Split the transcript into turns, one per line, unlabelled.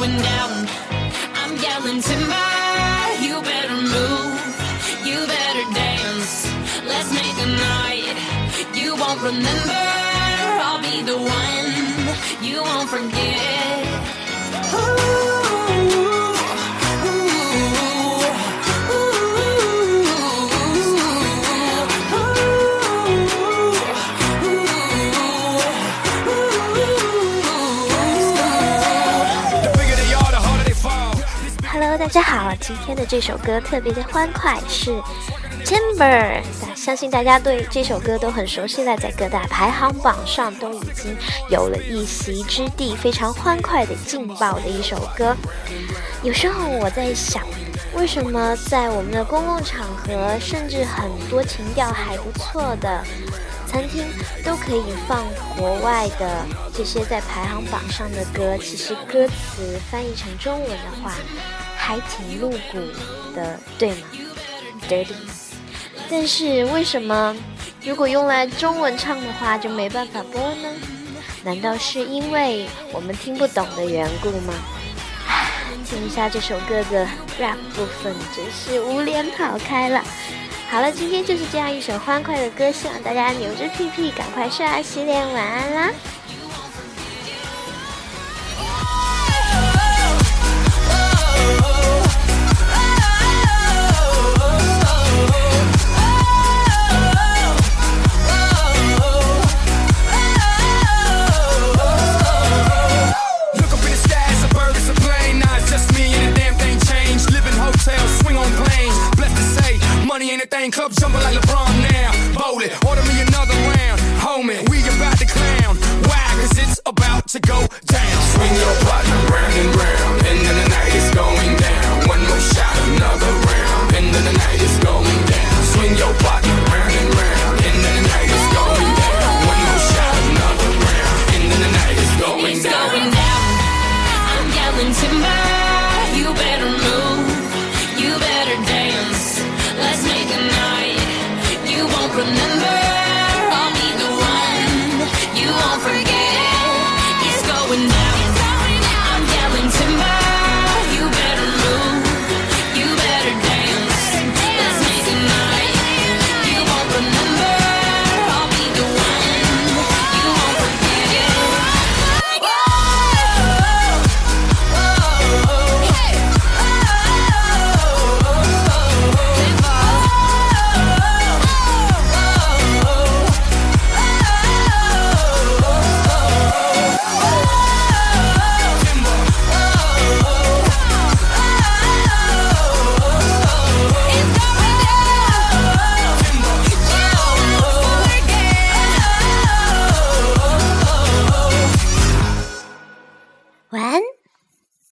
going down. I'm yelling timber, you better move, you better dance. Let's make a night you won't remember. I'll be the one you won't forget.
Hello， 大家好，今天的这首歌特别的欢快，是 Timber。相信大家对这首歌都很熟悉了，在各大排行榜上都已经有了一席之地，非常欢快的劲爆的一首歌。有时候我在想，为什么在我们的公共场合，甚至很多情调还不错的餐厅都可以放国外的这些在排行榜上的歌，其实歌词翻译成中文的话还挺露骨的，对吗？ Dirty。 但是为什么如果用来中文唱的话就没办法播呢？难道是因为我们听不懂的缘故吗？听一下这首歌的 rap 部分，真是无脸跑开了。好了，今天就是这样一首欢快的歌，希望大家扭着屁屁赶快刷牙洗脸，晚安啦。
Club jumping like LeBron now. Bowl it, order me another round. Homie, we about to clown. Why? Cause it's about to go down. Swing your partner round and round. And then the night is going down. One more shot, another round. And then the night is going down. Swing your partner round and round. And then the night is going down. One more shot, another round. And then the night is going
it's
down.
Going down. I'm yelling timber, you better move, you better dance. Let's make a night you won't remember.